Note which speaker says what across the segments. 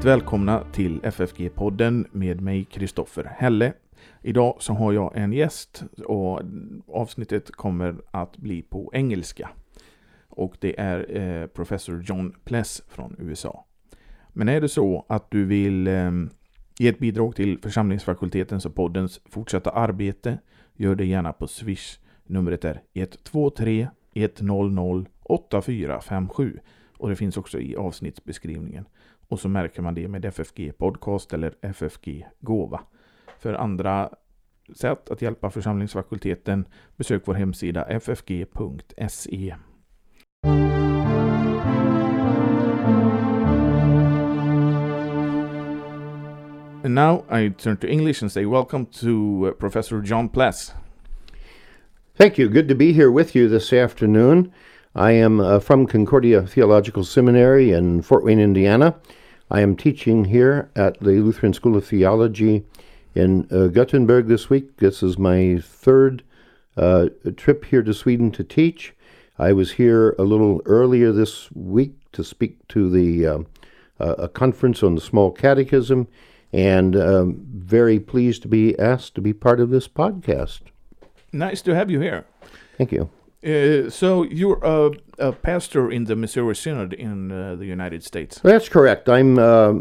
Speaker 1: Hjärtligt välkomna till FFG-podden med mig Kristoffer Helle. Idag så har jag en gäst och avsnittet kommer att bli på engelska. Och det är professor John Pless från USA. Men är det så att du vill ge ett bidrag till församlingsfakultetens och poddens fortsatta arbete, gör det gärna på Swish. Numret är 123 100 8457 och det finns också i avsnittsbeskrivningen. Och så märker man det med FFG podcast eller FFG gåva. För andra sätt att hjälpa församlingsfakulteten, besök vår hemsida ffg.se. And now I turn to English and say welcome to Professor John Pless.
Speaker 2: Thank you. Good to be here with you this afternoon. I am from Concordia Theological Seminary in Fort Wayne, Indiana. I am teaching here at the Lutheran School of Theology in Gothenburg this week. This is my third trip here to Sweden to teach. I was here a little earlier this week to speak to a conference on the Small Catechism, and very pleased to be asked to be part of this podcast.
Speaker 1: Nice to have you here.
Speaker 2: Thank you.
Speaker 1: So you're a pastor in the Missouri Synod in the United States.
Speaker 2: That's correct. I'm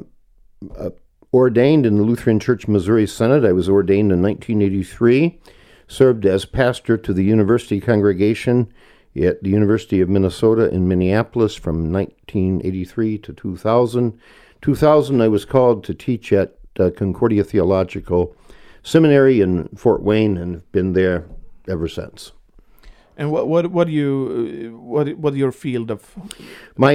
Speaker 2: ordained in the Lutheran Church Missouri Synod. I was ordained in 1983, served as pastor to the university congregation at the University of Minnesota in Minneapolis from 1983 to 2000. 2000, I was called to teach at Concordia Theological Seminary in Fort Wayne and have been there ever since.
Speaker 1: And what your field of
Speaker 2: my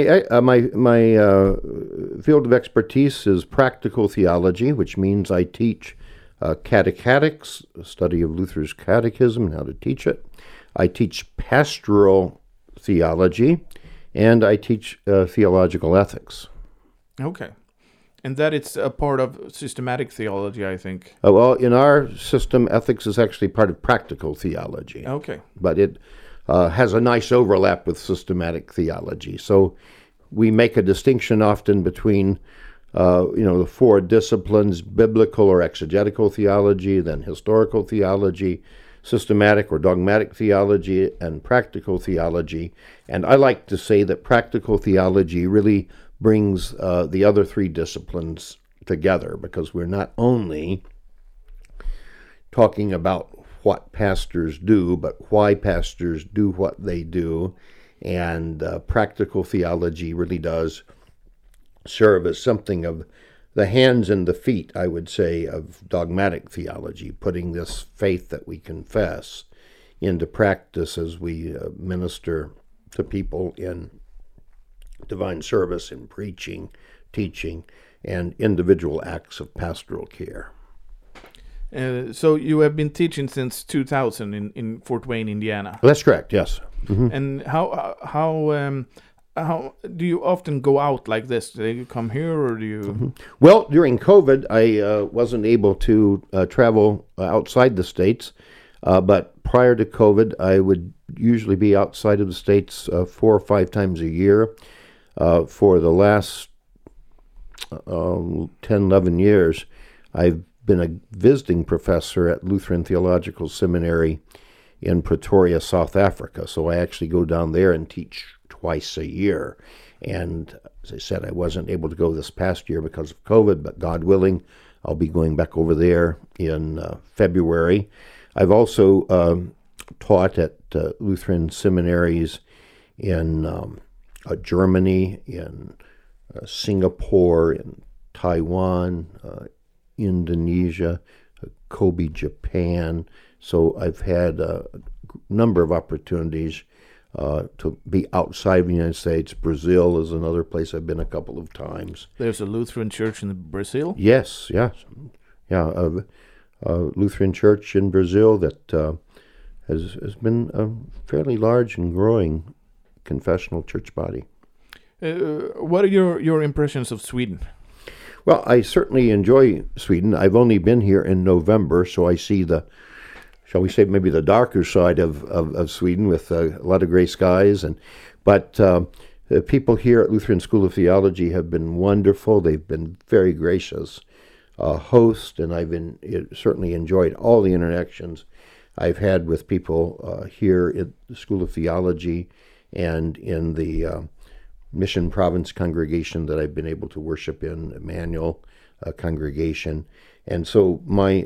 Speaker 2: field of expertise is practical theology, which means I teach catechetics, a study of Luther's catechism and how to teach it. I teach pastoral theology, and I teach theological ethics.
Speaker 1: Okay. And that it's a part of systematic theology, I think.
Speaker 2: Well, in our system, ethics is actually part of practical theology.
Speaker 1: Okay.
Speaker 2: But it has a nice overlap with systematic theology. So we make a distinction often between, the four disciplines: biblical or exegetical theology, then historical theology, systematic or dogmatic theology, and practical theology. And I like to say that practical theology really brings the other three disciplines together, because we're not only talking about what pastors do, but why pastors do what they do. And practical theology really does serve as something of the hands and the feet, I would say, of dogmatic theology, putting this faith that we confess into practice as we minister to people in divine service, in preaching, teaching, and individual acts of pastoral care.
Speaker 1: So you have been teaching since 2000 in Fort Wayne, Indiana.
Speaker 2: That's correct. Yes. Mm-hmm.
Speaker 1: And how do you often go out like this? Do you come here, or do you?
Speaker 2: Mm-hmm. Well, during COVID, I wasn't able to travel outside the states, but prior to COVID, I would usually be outside of the states 4 or 5 times a year. For the last 10, 11 years, I've been a visiting professor at Lutheran Theological Seminary in Pretoria, South Africa. So I actually go down there and teach twice a year. And as I said, I wasn't able to go this past year because of COVID, but God willing, I'll be going back over there in February. I've also taught at Lutheran seminaries in Germany, in Singapore, in Taiwan, Indonesia, Kobe, Japan. So I've had a number of opportunities to be outside of the United States. Brazil is another place I've been a couple of times.
Speaker 1: There's a Lutheran church in Brazil?
Speaker 2: Yes. Yeah, a Lutheran church in Brazil that has been a fairly large and growing confessional church body.
Speaker 1: What are your impressions of Sweden?
Speaker 2: Well, I certainly enjoy Sweden. I've only been here in November, so I see the, shall we say, maybe the darker side of Sweden with a lot of gray skies. But The people here at Lutheran School of Theology have been wonderful. They've been very gracious hosts, and I've certainly enjoyed all the interactions I've had with people here at the School of Theology and in the Mission Province congregation that I've been able to worship in, Emmanuel congregation. And so my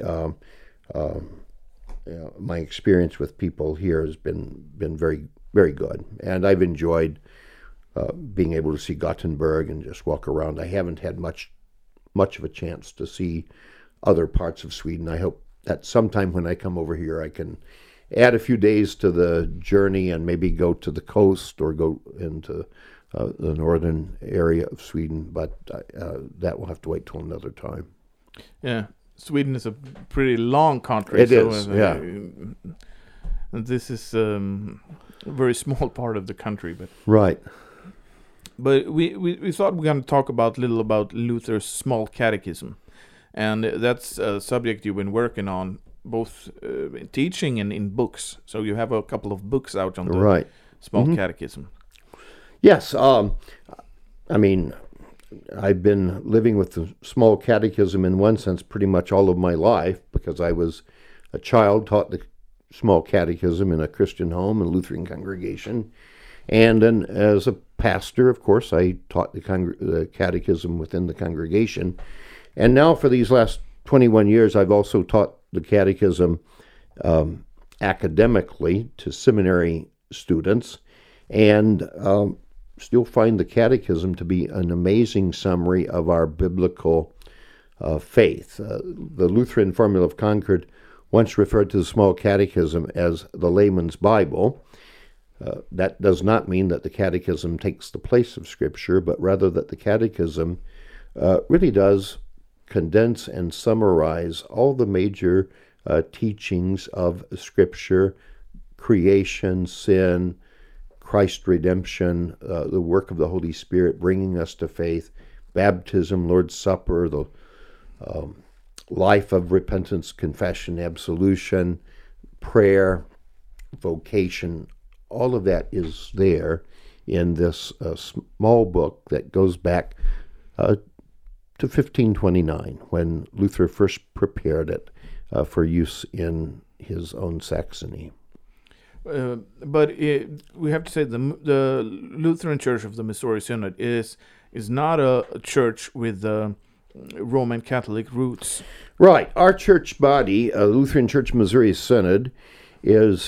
Speaker 2: experience with people here has been very, very good. And I've enjoyed being able to see Gothenburg and just walk around. I haven't had much of a chance to see other parts of Sweden. I hope that sometime when I come over here, I can add a few days to the journey and maybe go to the coast or go into the northern area of Sweden, but that will have to wait till another time.
Speaker 1: Yeah, Sweden is a pretty long country.
Speaker 2: It is, yeah.
Speaker 1: And this is a very small part of the country, but
Speaker 2: right.
Speaker 1: But we thought we're going to talk a little about Luther's Small Catechism, and that's a subject you've been working on, both in teaching and in books. So you have a couple of books out on the Small Catechism. Yes,
Speaker 2: I mean, I've been living with the Small Catechism in one sense pretty much all of my life, because I was a child taught the Small Catechism in a Christian home, a Lutheran congregation. And then as a pastor, of course, I taught the catechism within the congregation. And now for these last 21 years, I've also taught the catechism academically to seminary students, and still find the catechism to be an amazing summary of our biblical faith. The Lutheran Formula of Concord once referred to the Small Catechism as the layman's Bible. That does not mean that the catechism takes the place of Scripture, but rather that the catechism really does condense and summarize all the major teachings of Scripture: creation, sin, Christ's redemption, the work of the Holy Spirit bringing us to faith, baptism, Lord's Supper, the life of repentance, confession, absolution, prayer, vocation. All of that is there in this small book that goes back to 1529, when Luther first prepared it for use in his own Saxony.
Speaker 1: But we have to say the Lutheran Church of the Missouri Synod is not a church with Roman Catholic roots.
Speaker 2: Right. Our church body, Lutheran Church Missouri Synod, is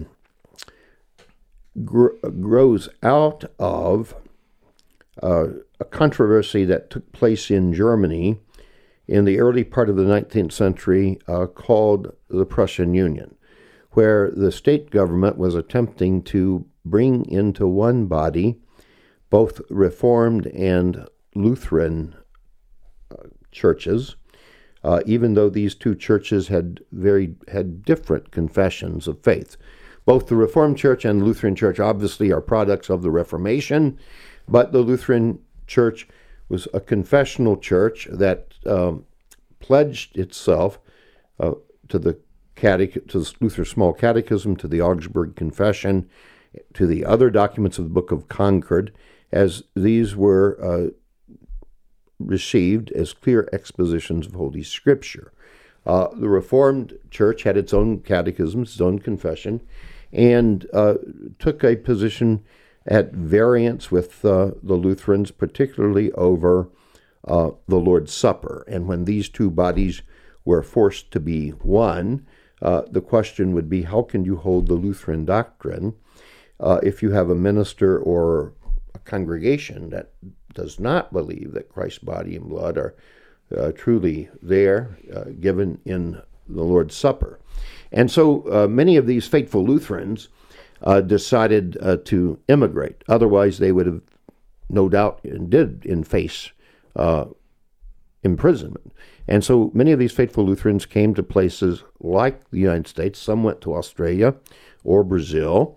Speaker 2: grows out of a controversy that took place in Germany in the early part of the 19th century called the Prussian Union, where the state government was attempting to bring into one body both Reformed and Lutheran churches, even though these two churches had different confessions of faith. Both the Reformed Church and the Lutheran Church obviously are products of the Reformation, but the Lutheran Church was a confessional church that pledged itself to the Luther's Small Catechism, to the Augsburg Confession, to the other documents of the Book of Concord, as these were received as clear expositions of Holy Scripture. The Reformed Church had its own catechism, its own confession, and took a position at variance with the Lutherans, particularly over the Lord's Supper. And when these two bodies were forced to be one, the question would be, how can you hold the Lutheran doctrine if you have a minister or a congregation that does not believe that Christ's body and blood are truly there, given in the Lord's Supper? And so many of these faithful Lutherans decided to immigrate. Otherwise, they would have, no doubt, and did face imprisonment. And so many of these faithful Lutherans came to places like the United States. Some went to Australia or Brazil.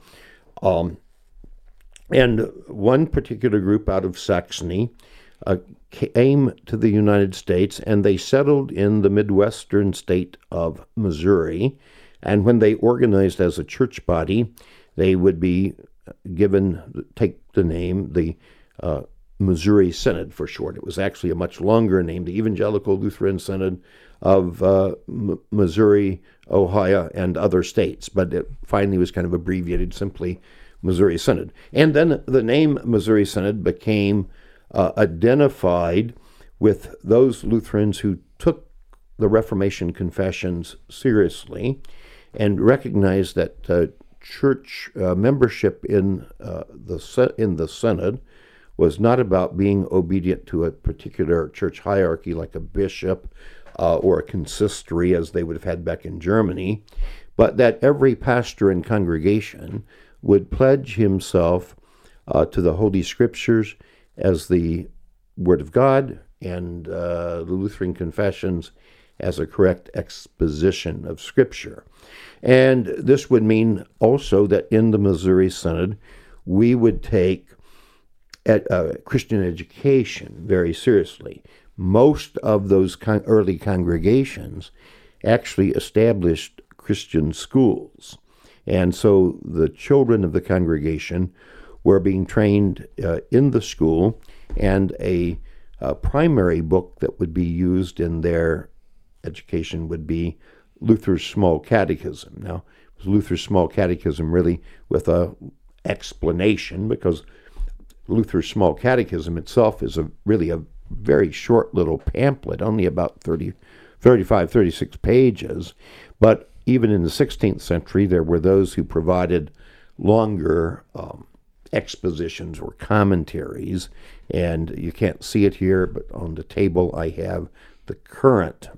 Speaker 2: And one particular group out of Saxony came to the United States, and they settled in the Midwestern state of Missouri. And when they organized as a church body, they would be take the name, the Missouri Synod for short. It was actually a much longer name, the Evangelical Lutheran Synod of Missouri, Ohio, and other states, but it finally was kind of abbreviated simply Missouri Synod. And then the name Missouri Synod became identified with those Lutherans who took the Reformation confessions seriously and recognized that church membership in the Synod was not about being obedient to a particular church hierarchy like a bishop or a consistory as they would have had back in Germany, but that every pastor and congregation would pledge himself to the Holy Scriptures as the Word of God and the Lutheran confessions as a correct exposition of Scripture. And this would mean also that in the Missouri Synod, we would take Christian education very seriously. Most of those early congregations actually established Christian schools. And so the children of the congregation were being trained in the school, and a primary book that would be used in their education would be Luther's Small Catechism. Now, it was Luther's Small Catechism really with a explanation, because Luther's Small Catechism itself is really a very short little pamphlet, only about 35, 36 pages. But even in the 16th century, there were those who provided longer expositions or commentaries. And you can't see it here, but on the table I have the current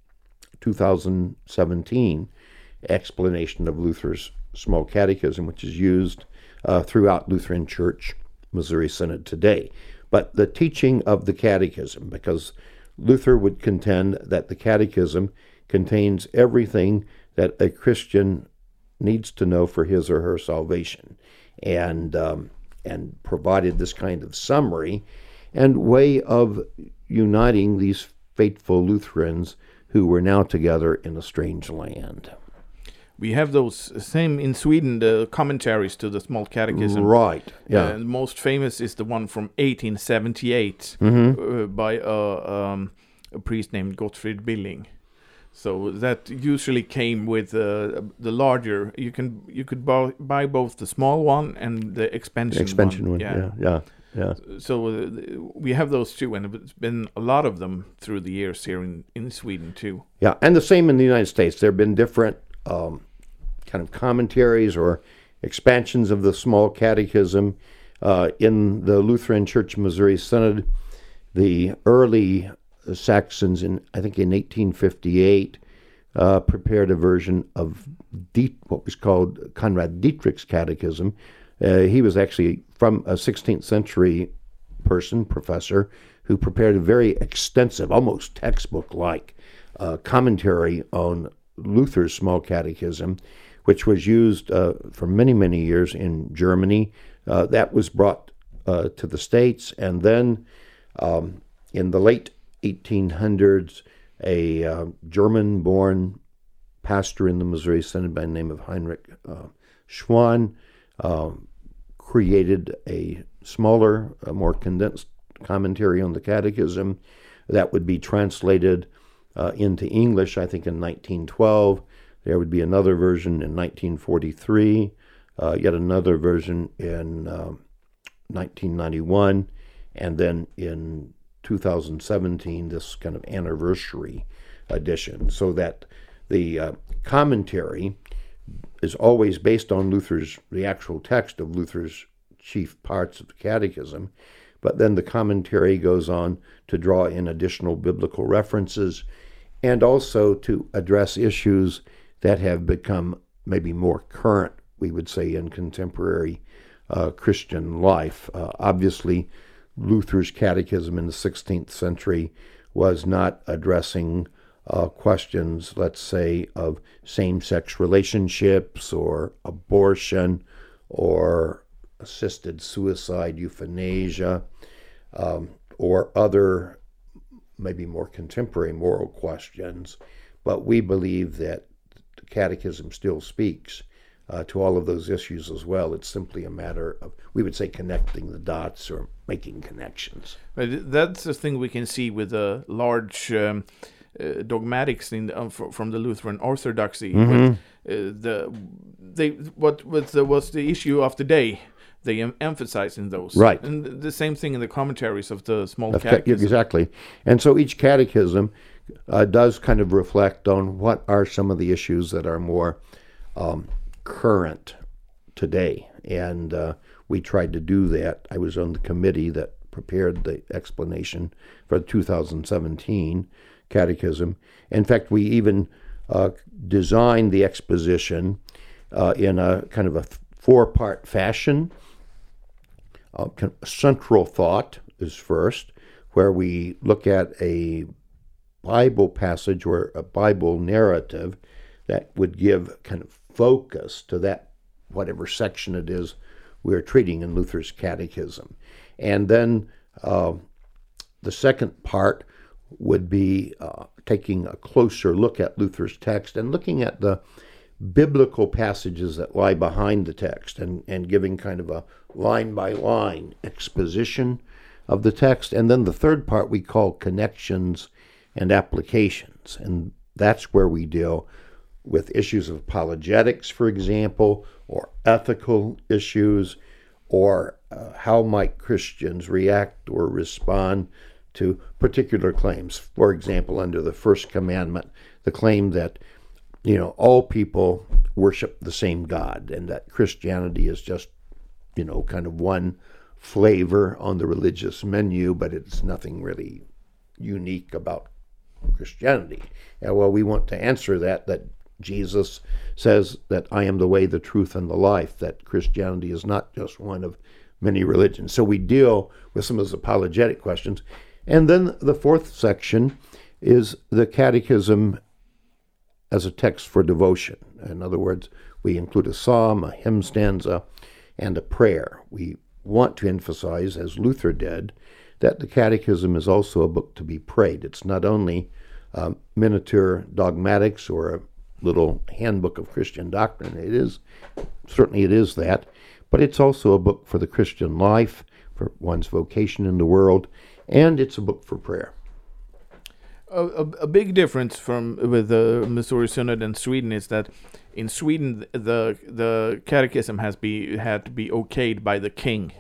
Speaker 2: 2017 explanation of Luther's Small Catechism, which is used throughout Lutheran Church Missouri Synod today. But the teaching of the Catechism, because Luther would contend that the Catechism contains everything that a Christian needs to know for his or her salvation, and provided this kind of summary and way of uniting these faithful Lutherans who were now together in a strange land.
Speaker 1: We have those same in Sweden, the commentaries to the Small Catechism.
Speaker 2: Right, yeah.
Speaker 1: The most famous is the one from 1878 by a priest named Gottfried Billing. So that usually came with the larger. You could buy both the small one and the expansion one. Yeah. So we have those two, and it's been a lot of them through the years here in Sweden too.
Speaker 2: Yeah, and the same in the United States. There have been different kind of commentaries or expansions of the Small Catechism in the Lutheran Church Missouri Synod. The early Saxons, I think in 1858, prepared a version of what was called Conrad Dietrich's Catechism. He was actually from a 16th century professor, who prepared a very extensive, almost textbook-like commentary on Luther's Small Catechism, which was used for many, many years in Germany. That was brought to the States, and then in the late 1800s, a German-born pastor in the Missouri Synod by the name of Heinrich Schwann created a smaller, more condensed commentary on the Catechism that would be translated into English, I think, in 1912. There would be another version in 1943, yet another version in 1991, and then in 2017, this kind of anniversary edition, so that the commentary is always based on the actual text of Luther's chief parts of the Catechism, but then the commentary goes on to draw in additional biblical references and also to address issues that have become maybe more current, we would say, in contemporary Christian life. Obviously, Luther's Catechism in the 16th century was not addressing questions, let's say, of same-sex relationships or abortion or assisted suicide, euthanasia, or other maybe more contemporary moral questions. But we believe that the Catechism still speaks to all of those issues as well. It's simply a matter of, we would say, connecting the dots or making connections.
Speaker 1: But that's the thing we can see with the large dogmatics from the Lutheran Orthodoxy.
Speaker 2: Mm-hmm.
Speaker 1: What's the issue of the day? They emphasize in those.
Speaker 2: Right.
Speaker 1: And the same thing in the commentaries of the small catechism.
Speaker 2: Exactly. And so each catechism does kind of reflect on what are some of the issues that are more current today. And we tried to do that. I was on the committee that prepared the explanation for the 2017 catechism. In fact, we even designed the exposition in a kind of a four-part fashion. Central thought is first, where we look at a Bible passage or a Bible narrative that would give kind of focus to that, whatever section it is we're treating in Luther's catechism. And then the second part would be taking a closer look at Luther's text and looking at the biblical passages that lie behind the text and giving kind of a line-by-line exposition of the text. And then the third part we call connections and applications. And that's where we deal with issues of apologetics, for example, or ethical issues, or how might Christians react or respond to particular claims. For example, under the first commandment, the claim that all people worship the same God, and that Christianity is just, kind of one flavor on the religious menu, but it's nothing really unique about Christianity. And well, we want to answer that Jesus says that I am the way, the truth, and the life, that Christianity is not just one of many religions. So we deal with some of those apologetic questions. And then the fourth section is the catechism as a text for devotion. In other words, we include a psalm, a hymn stanza, and a prayer. We want to emphasize, as Luther did, that the catechism is also a book to be prayed. It's not only miniature dogmatics or a little handbook of Christian doctrine. It is that, but it's also a book for the Christian life, for one's vocation in the world, and it's a book for prayer.
Speaker 1: A big difference with the Missouri Synod in Sweden is that in Sweden the catechism had to be okayed by the king.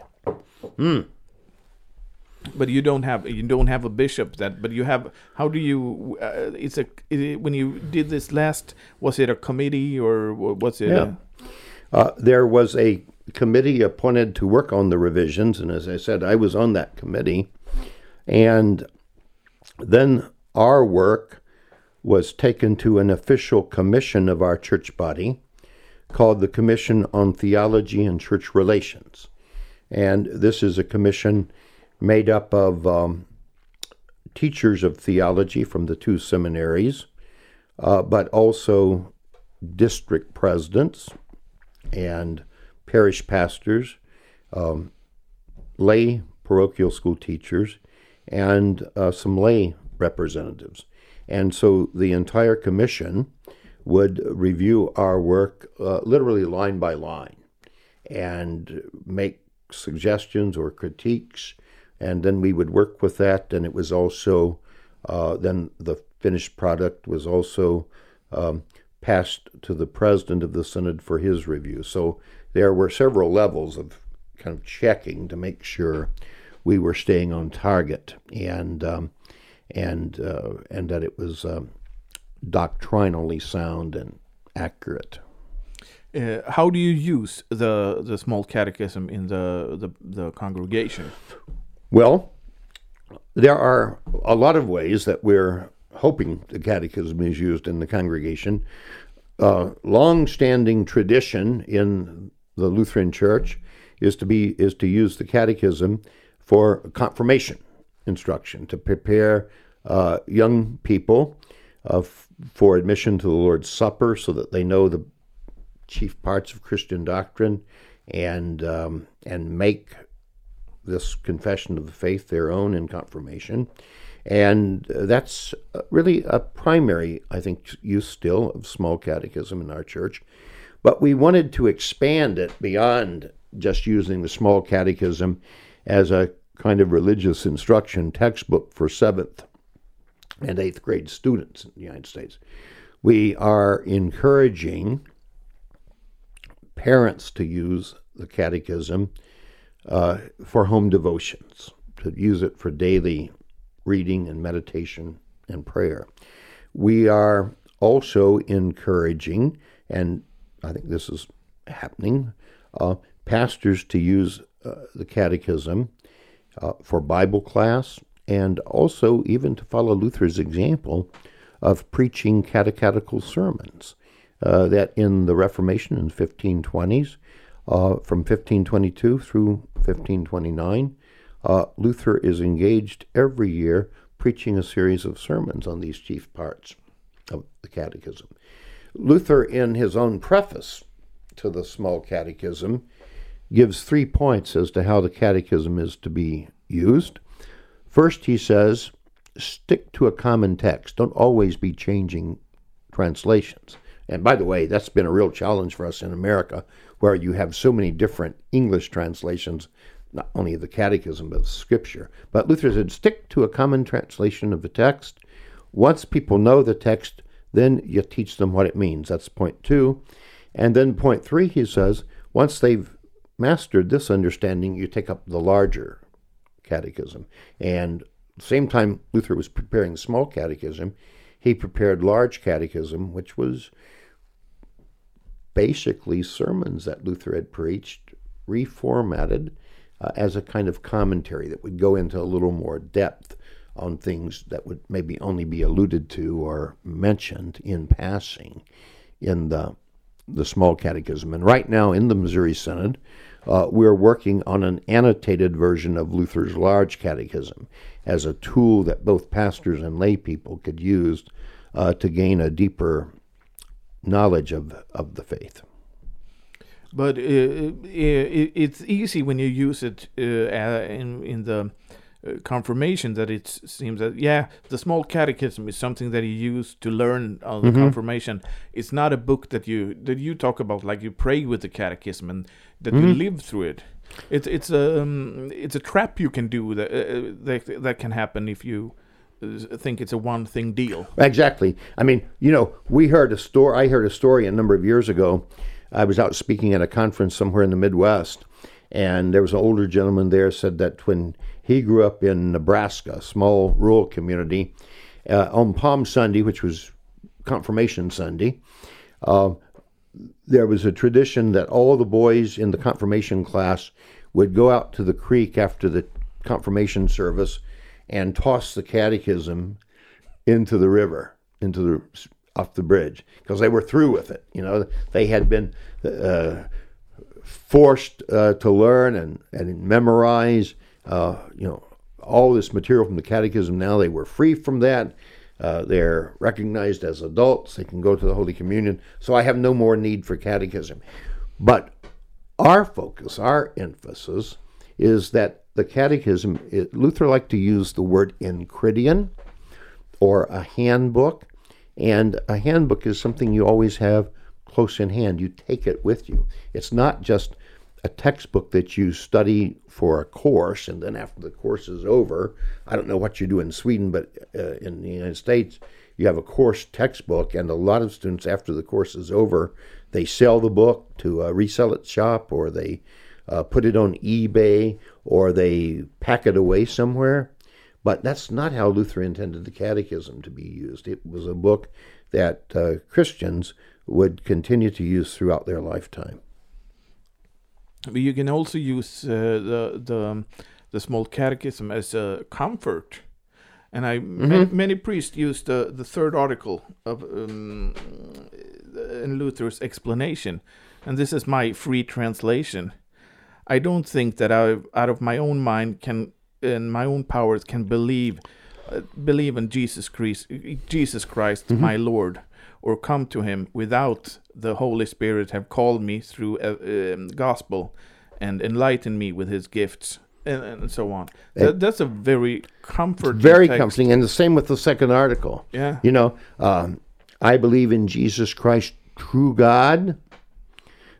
Speaker 1: But you don't have a bishop but you have. How do you? When you did this last, was it a committee or was it?
Speaker 2: Yeah. There was a committee appointed to work on the revisions, and as I said, I was on that committee, and then our work was taken to an official commission of our church body called the Commission on Theology and Church Relations. And this is a commission made up of teachers of theology from the two seminaries, but also district presidents and parish pastors, lay parochial school teachers, and some lay representatives. And so the entire commission would review our work literally line by line and make suggestions or critiques, and then we would work with that. And it was also, then the finished product was also passed to the president of the synod for his review. So there were several levels of kind of checking to make sure we were staying on target, and that it was doctrinally sound and accurate.
Speaker 1: How do you use the small catechism in the congregation?
Speaker 2: Well, there are a lot of ways that we're hoping the catechism is used in the congregation. Long-standing tradition in the Lutheran Church is to use the catechism for confirmation instruction, to prepare young people for admission to the Lord's Supper, so that they know the chief parts of Christian doctrine and make this confession of the faith their own in confirmation. And that's really a primary, I think, use still of small catechism in our church. But we wanted to expand it beyond just using the Small Catechism as a kind of religious instruction textbook for 7th and 8th grade students in the United States. We are encouraging parents to use the Catechism for home devotions, to use it for daily reading and meditation and prayer. We are also encouraging, and I think this is happening, pastors to use the Catechism for Bible class, and also even to follow Luther's example of preaching catechetical sermons. That in the Reformation in the 1520s, from 1522 through 1529, Luther is engaged every year preaching a series of sermons on these chief parts of the Catechism. Luther, in his own preface to the Small Catechism, gives 3 points as to how the Catechism is to be used. First, he says, stick to a common text. Don't always be changing translations. And by the way, that's been a real challenge for us in America, where you have so many different English translations, not only of the Catechism, but Scripture. But Luther said, stick to a common translation of the text. Once people know the text, then you teach them what it means. That's point 2. And then point 3, he says, once they've mastered this understanding, you take up the larger catechism. And at the same time Luther was preparing Small Catechism, he prepared Large Catechism, which was basically sermons that Luther had preached, reformatted as a kind of commentary that would go into a little more depth on things that would maybe only be alluded to or mentioned in passing in the Small Catechism. And right now in the Missouri Synod, we're working on an annotated version of Luther's Large Catechism as a tool that both pastors and lay people could use to gain a deeper knowledge of the faith.
Speaker 1: But it's easy when you use it in the confirmation, that it seems that, the Small Catechism is something that you use to learn on the confirmation. It's not a book that you talk about, like you pray with the Catechism and that you live through it. It's a trap you can do that can happen if you think it's a one-thing deal.
Speaker 2: Exactly. I mean, I heard a story a number of years ago. I was out speaking at a conference somewhere in the Midwest, and there was an older gentleman there said that when he grew up in Nebraska, a small rural community, on Palm Sunday, which was Confirmation Sunday, there was a tradition that all the boys in the confirmation class would go out to the creek after the confirmation service and toss the catechism into the river, off the bridge, because they were through with it. They had been forced to learn and memorize, all this material from the Catechism. Now they were free from that. They're recognized as adults. They can go to the Holy Communion. So I have no more need for catechism. But our focus, our emphasis, is that the catechism, Luther liked to use the word enchiridion, or a handbook. And a handbook is something you always have close in hand. You take it with you. It's not just a textbook that you study for a course, and then after the course is over, I don't know what you do in Sweden, but in the United States, you have a course textbook, and a lot of students, after the course is over, they sell the book to a resell it shop, or they put it on eBay, or they pack it away somewhere. But that's not how Luther intended the Catechism to be used. It was a book that Christians would continue to use throughout their lifetime.
Speaker 1: But you can also use the Small Catechism as a comfort, and many priests use the third article of in Luther's explanation, and this is my free translation. I don't think that I, out of my own mind, and my own powers, can believe in Jesus Christ, my Lord, or come to him without the Holy Spirit have called me through gospel and enlightened me with his gifts, and so on. That's a very comforting text.
Speaker 2: Comforting, and the same with the second article.
Speaker 1: Yeah.
Speaker 2: I believe in Jesus Christ, true God,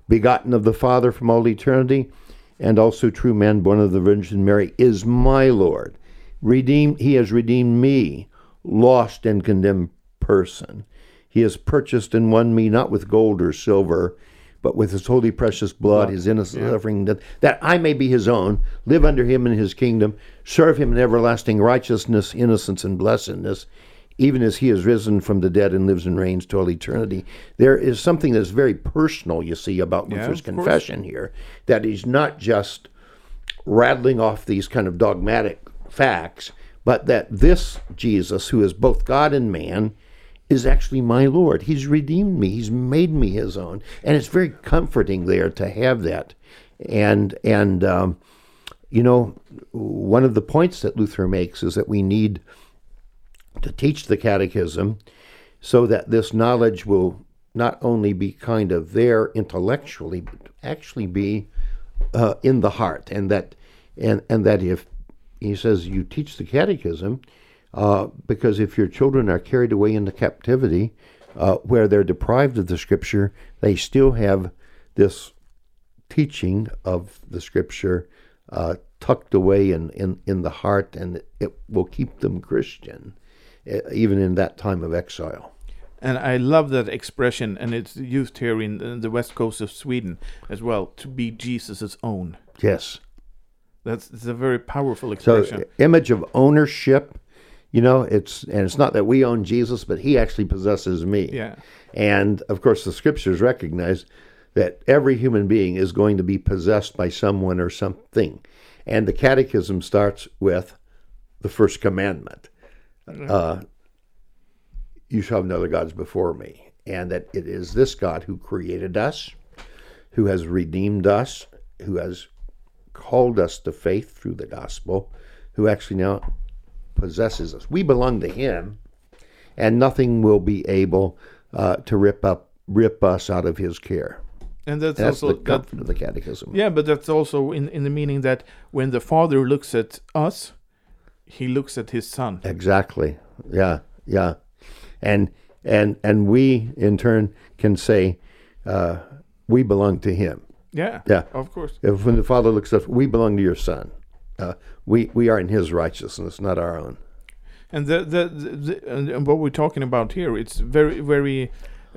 Speaker 2: begotten of the Father from all eternity, and also true man, born of the Virgin Mary, is my Lord. He has redeemed me, lost and condemned person. He has purchased and won me not with gold or silver, but with his holy precious blood, his innocent suffering, that I may be his own, live under him in his kingdom, serve him in everlasting righteousness, innocence, and blessedness, even as he has risen from the dead and lives and reigns to all eternity. There is something that's very personal, you see, about Luther's confession here, that he's not just rattling off these kind of dogmatic facts, but that this Jesus, who is both God and man, is actually my Lord. He's redeemed me. He's made me his own. And it's very comforting there to have that. And you know, one of the points that Luther makes is that we need to teach the catechism so that this knowledge will not only be kind of there intellectually, but actually be in the heart. And that if, he says, you teach the catechism, because if your children are carried away into captivity, where they're deprived of the Scripture, they still have this teaching of the Scripture tucked away in the heart, and it will keep them Christian, even in that time of exile.
Speaker 1: And I love that expression, and it's used here in the west coast of Sweden as well, to be Jesus' own.
Speaker 2: Yes.
Speaker 1: It's a very powerful expression.
Speaker 2: So, image of ownership. You know, it's not that we own Jesus, but he actually possesses me.
Speaker 1: Yeah.
Speaker 2: And of course, the Scriptures recognize that every human being is going to be possessed by someone or something. And the Catechism starts with the first commandment: "You shall have no other gods before me." And that it is this God who created us, who has redeemed us, who has called us to faith through the gospel, who actually now possesses us. We belong to him, and nothing will be able to rip us out of his care.
Speaker 1: And that's
Speaker 2: also
Speaker 1: also
Speaker 2: the comfort of the catechism.
Speaker 1: Yeah, but that's also in the meaning that when the Father looks at us, he looks at his Son.
Speaker 2: Exactly. Yeah. And we in turn can say we belong to him.
Speaker 1: Yeah. Of course.
Speaker 2: If when the Father looks at us, we belong to your Son. We are in his righteousness, not our own.
Speaker 1: And and what we're talking about here, it's very, very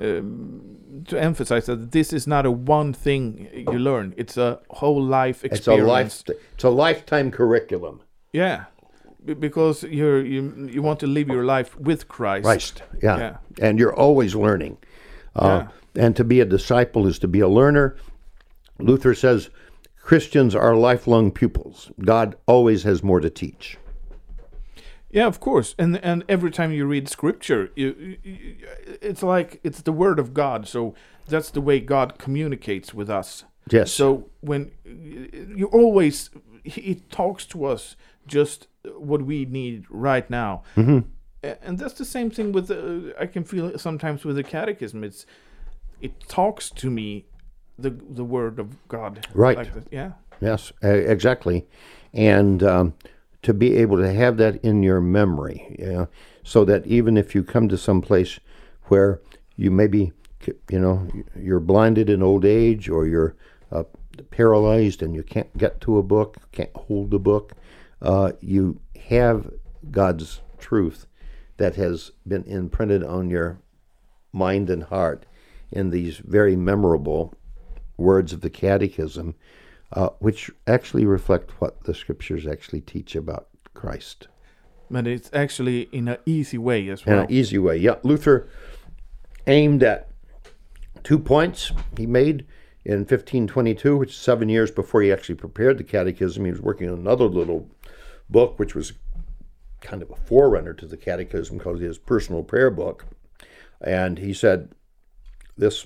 Speaker 1: to emphasize that this is not a one thing you learn. It's a whole life experience.
Speaker 2: It's a lifetime curriculum.
Speaker 1: Yeah, because you want to live your life with Christ.
Speaker 2: Yeah. And you're always learning. And to be a disciple is to be a learner. Luther says Christians are lifelong pupils. God always has more to teach.
Speaker 1: Yeah, of course. And every time you read Scripture, it's like it's the Word of God. So that's the way God communicates with us.
Speaker 2: Yes.
Speaker 1: So when you always, He talks to us just what we need right now.
Speaker 2: Mm-hmm.
Speaker 1: And that's the same thing with I can feel sometimes with the Catechism. It talks to me, the Word of God.
Speaker 2: Right.
Speaker 1: Like that. Yeah.
Speaker 2: Yes, exactly. And to be able to have that in your memory, so that even if you come to some place where you maybe, you're blinded in old age, or you're paralyzed and you can't get to a book, can't hold a book, you have God's truth that has been imprinted on your mind and heart in these very memorable words of the Catechism, which actually reflect what the Scriptures actually teach about Christ.
Speaker 1: But it's actually in an easy way as well.
Speaker 2: In an easy way, yeah. Luther aimed at 2 points he made in 1522, which is 7 years before he actually prepared the Catechism. He was working on another little book, which was kind of a forerunner to the Catechism, called his personal prayer book. And he said this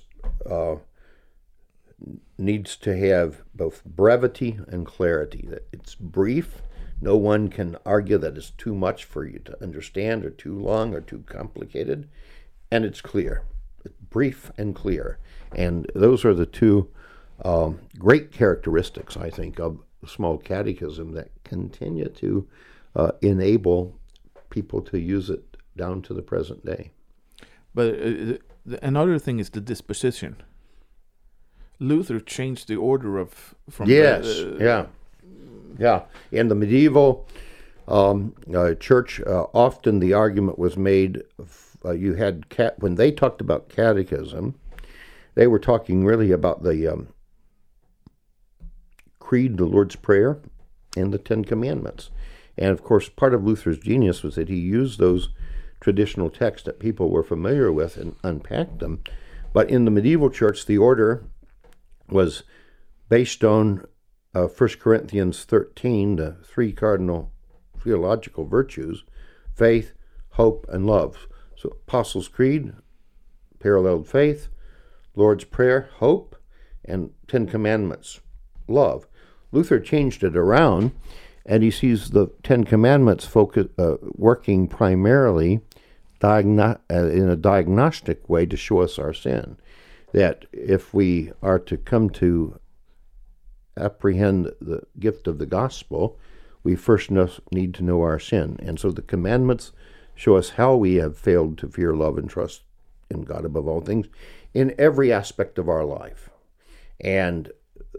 Speaker 2: needs to have both brevity and clarity, that it's brief. No one can argue that it's too much for you to understand, or too long, or too complicated. And it's clear. It's brief and clear. And those are the two great characteristics, I think, of the small catechism that continue to enable people to use it down to the present day.
Speaker 1: But another thing is the disposition. Luther changed the order of from
Speaker 2: Yes, yeah. In the medieval church, often the argument was made. You had when they talked about catechism, they were talking really about the Creed, the Lord's Prayer, and the Ten Commandments. And of course, part of Luther's genius was that he used those traditional texts that people were familiar with and unpacked them. But in the medieval church, the order was based on 1 Corinthians 13, the three cardinal theological virtues: faith, hope, and love. So Apostles' Creed, paralleled faith; Lord's Prayer, hope; and Ten Commandments, love. Luther changed it around, and he sees the Ten Commandments working primarily in a diagnostic way to show us our sin. That if we are to come to apprehend the gift of the gospel, we first need to know our sin. And so the commandments show us how we have failed to fear, love, and trust in God above all things in every aspect of our life. And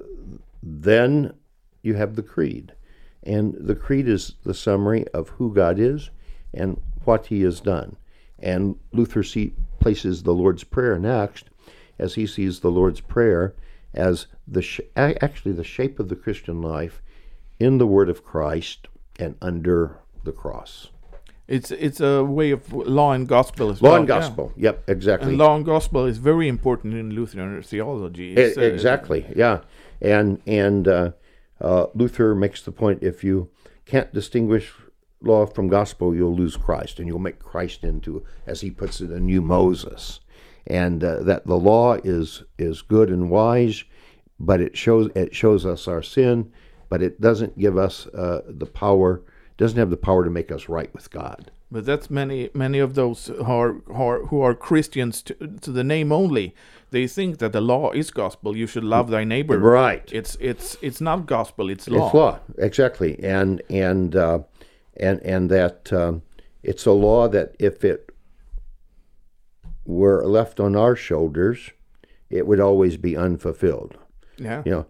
Speaker 2: then you have the Creed. And the Creed is the summary of who God is and what he has done. And Luther places the Lord's Prayer next, as he sees the Lord's Prayer as actually the shape of the Christian life in the Word of Christ and under the cross.
Speaker 1: It's a way of law and gospel as
Speaker 2: well.
Speaker 1: Law
Speaker 2: and gospel, yeah. Yep, exactly.
Speaker 1: And law and gospel is very important in Lutheran theology.
Speaker 2: Exactly, yeah. And Luther makes the point, if you can't distinguish law from gospel, you'll lose Christ, and you'll make Christ into, as he puts it, a new Moses. And that the law is good and wise, but it shows us our sin, but it doesn't give us the power. Doesn't have the power to make us right with God.
Speaker 1: But that's many of those who are Christians to the name only. They think that the law is gospel. You should love thy neighbor.
Speaker 2: Right.
Speaker 1: It's not gospel. It's law.
Speaker 2: It's law, exactly. And that it's a law that if it were left on our shoulders, it would always be unfulfilled.
Speaker 1: Yeah.
Speaker 2: You know,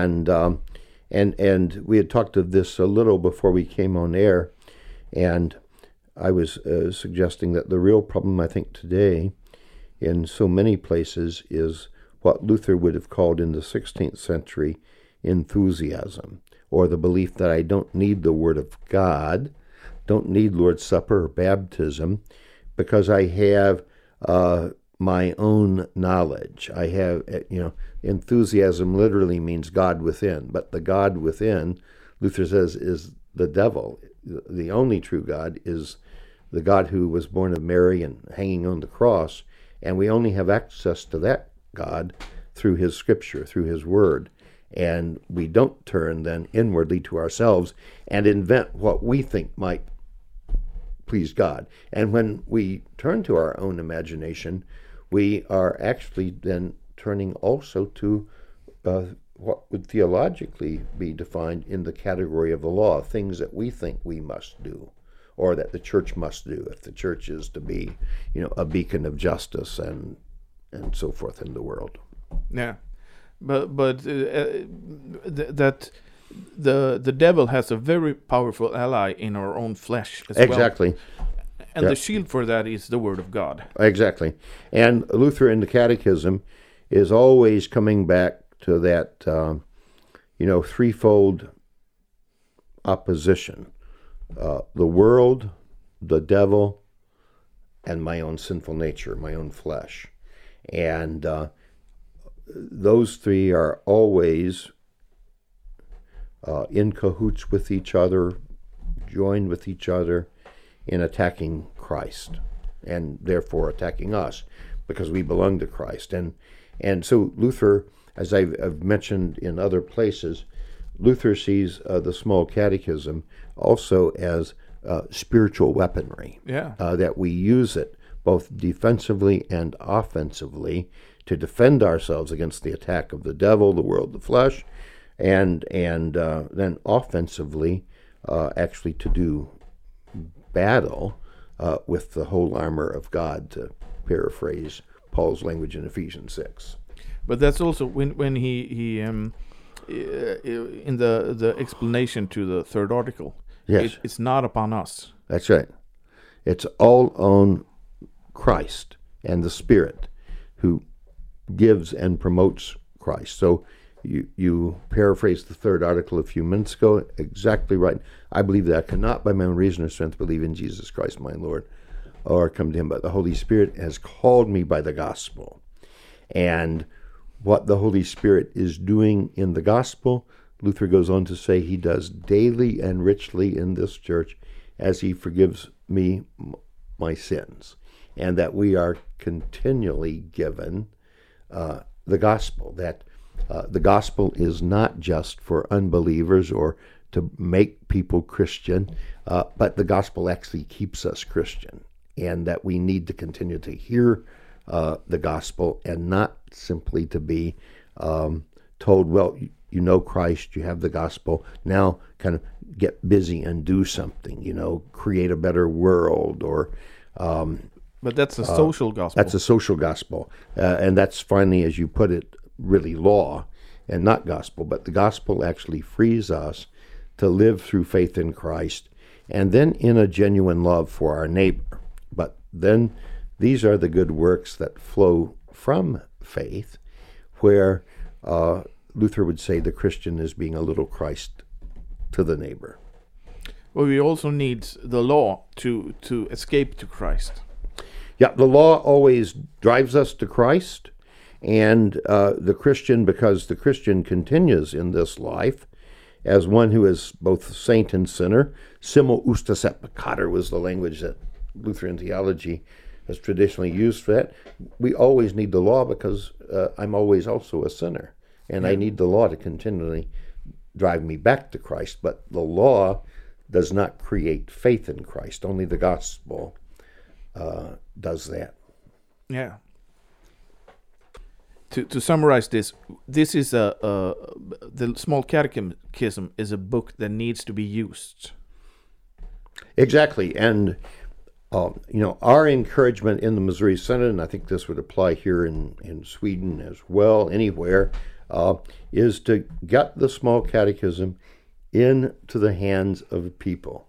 Speaker 2: and we had talked of this a little before we came on air, and I was suggesting that the real problem, I think, today in so many places is what Luther would have called in the 16th century enthusiasm, or the belief that I don't need the Word of God, don't need Lord's Supper or baptism, because I have my own knowledge. I have, enthusiasm literally means God within, but the God within, Luther says, is the devil. The only true God is the God who was born of Mary and hanging on the cross, and we only have access to that God through his scripture, through his word. And we don't turn then inwardly to ourselves and invent what we think might please God. And when we turn to our own imagination, we are actually then turning also to what would theologically be defined in the category of the law, things that we think we must do, or that the church must do, if the church is to be, a beacon of justice and so forth in the world.
Speaker 1: Yeah, but that the devil has a very powerful ally in our own flesh as well.
Speaker 2: Exactly.
Speaker 1: And the shield for that is the Word of God.
Speaker 2: Exactly. And Luther in the Catechism is always coming back to that, threefold opposition. The world, the devil, and my own sinful nature, my own flesh. And those three are always in cahoots with each other, joined with each other in attacking Christ, and therefore attacking us, because we belong to Christ. And so Luther, as I've mentioned in other places, Luther sees the small catechism also as spiritual weaponry.
Speaker 1: Yeah.
Speaker 2: That we use it both defensively and offensively to defend ourselves against the attack of the devil, the world, the flesh, and then offensively actually to do battle with the whole armor of God, to paraphrase Paul's language in Ephesians 6.
Speaker 1: But that's also when he in the explanation to the third article.
Speaker 2: Yes.
Speaker 1: It's not upon us.
Speaker 2: That's right. It's all on Christ and the Spirit who gives and promotes Christ. So you paraphrased the third article a few minutes ago, exactly right. I believe that I cannot by my own reason or strength believe in Jesus Christ my Lord or come to him, but the Holy Spirit has called me by the gospel. And what the Holy Spirit is doing in the gospel, Luther goes on to say he does daily and richly in this church as he forgives me my sins, and that we are continually given the gospel, that the gospel is not just for unbelievers or to make people Christian, but the gospel actually keeps us Christian, and that we need to continue to hear the gospel and not simply to be told, well, you know Christ, you have the gospel, now kind of get busy and do something, create a better world or...
Speaker 1: But that's a social gospel.
Speaker 2: That's a social gospel. And that's finally, as you put it, really law and not gospel. But the gospel actually frees us to live through faith in Christ and then in a genuine love for our neighbor. But then these are the good works that flow from faith, where Luther would say the Christian is being a little Christ to the neighbor.
Speaker 1: Well, we also need the law to escape to Christ.
Speaker 2: Yeah, the law always drives us to Christ, and the Christian, because the Christian continues in this life as one who is both saint and sinner. Simul justus et peccator was the language that Lutheran theology has traditionally used for that. We always need the law because I'm always also a sinner, and I need the law to continually drive me back to Christ. But the law does not create faith in Christ. Only the gospel does that.
Speaker 1: Yeah. To summarize this is the Small Catechism is a book that needs to be used.
Speaker 2: Exactly, and our encouragement in the Missouri Synod, and I think this would apply here in Sweden as well, anywhere, is to get the Small Catechism into the hands of people.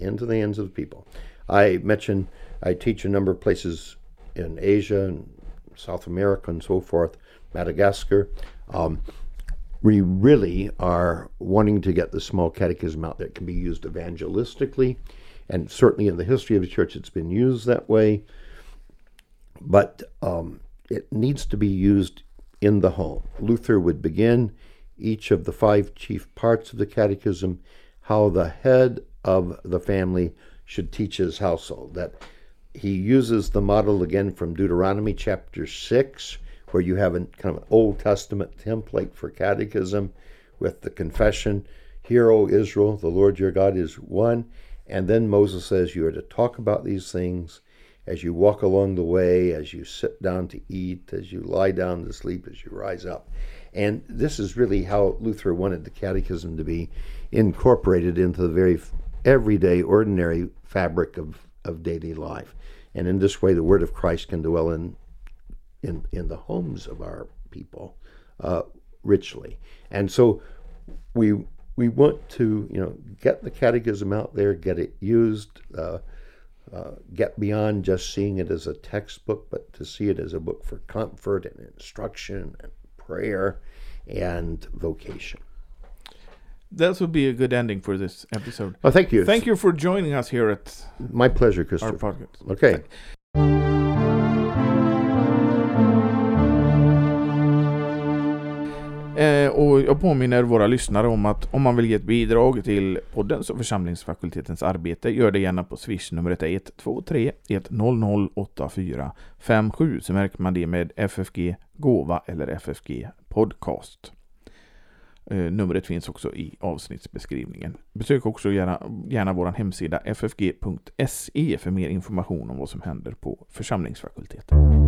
Speaker 2: I mentioned I teach a number of places in Asia and South America and so forth, Madagascar. We really are wanting to get the Small Catechism out there. It can be used evangelistically, and certainly in the history of the church it's been used that way. But it needs to be used in the home. Luther would begin each of the 5 chief parts of the catechism, how the head of the family should teach his household. That he uses the model again from Deuteronomy chapter 6, where you have kind of an Old Testament template for catechism with the confession, "Hear, O Israel, the Lord your God is one." And then Moses says you are to talk about these things as you walk along the way, as you sit down to eat, as you lie down to sleep, as you rise up. And this is really how Luther wanted the catechism to be incorporated into the very everyday, ordinary fabric of daily life. And in this way, the word of Christ can dwell in the homes of our people richly. And so we want to get the catechism out there, get it used, get beyond just seeing it as a textbook, but to see it as a book for comfort and instruction and prayer and vocation.
Speaker 1: That would be a good ending for this episode.
Speaker 2: Oh, thank you.
Speaker 1: Thank you for joining us here at
Speaker 2: my pleasure,
Speaker 1: our
Speaker 2: Christopher.
Speaker 1: podcast.
Speaker 2: Okay.
Speaker 1: Och jag påminner våra lyssnare om att om man vill ge ett bidrag till poddens och församlingsfakultetens arbete, gör det gärna på Swish numret 123 100 8457, så märker man det med FFG Gåva eller FFG Podcast. Numret finns också i avsnittsbeskrivningen. Besök också gärna vår hemsida ffg.se för mer information om vad som händer på församlingsfakulteten.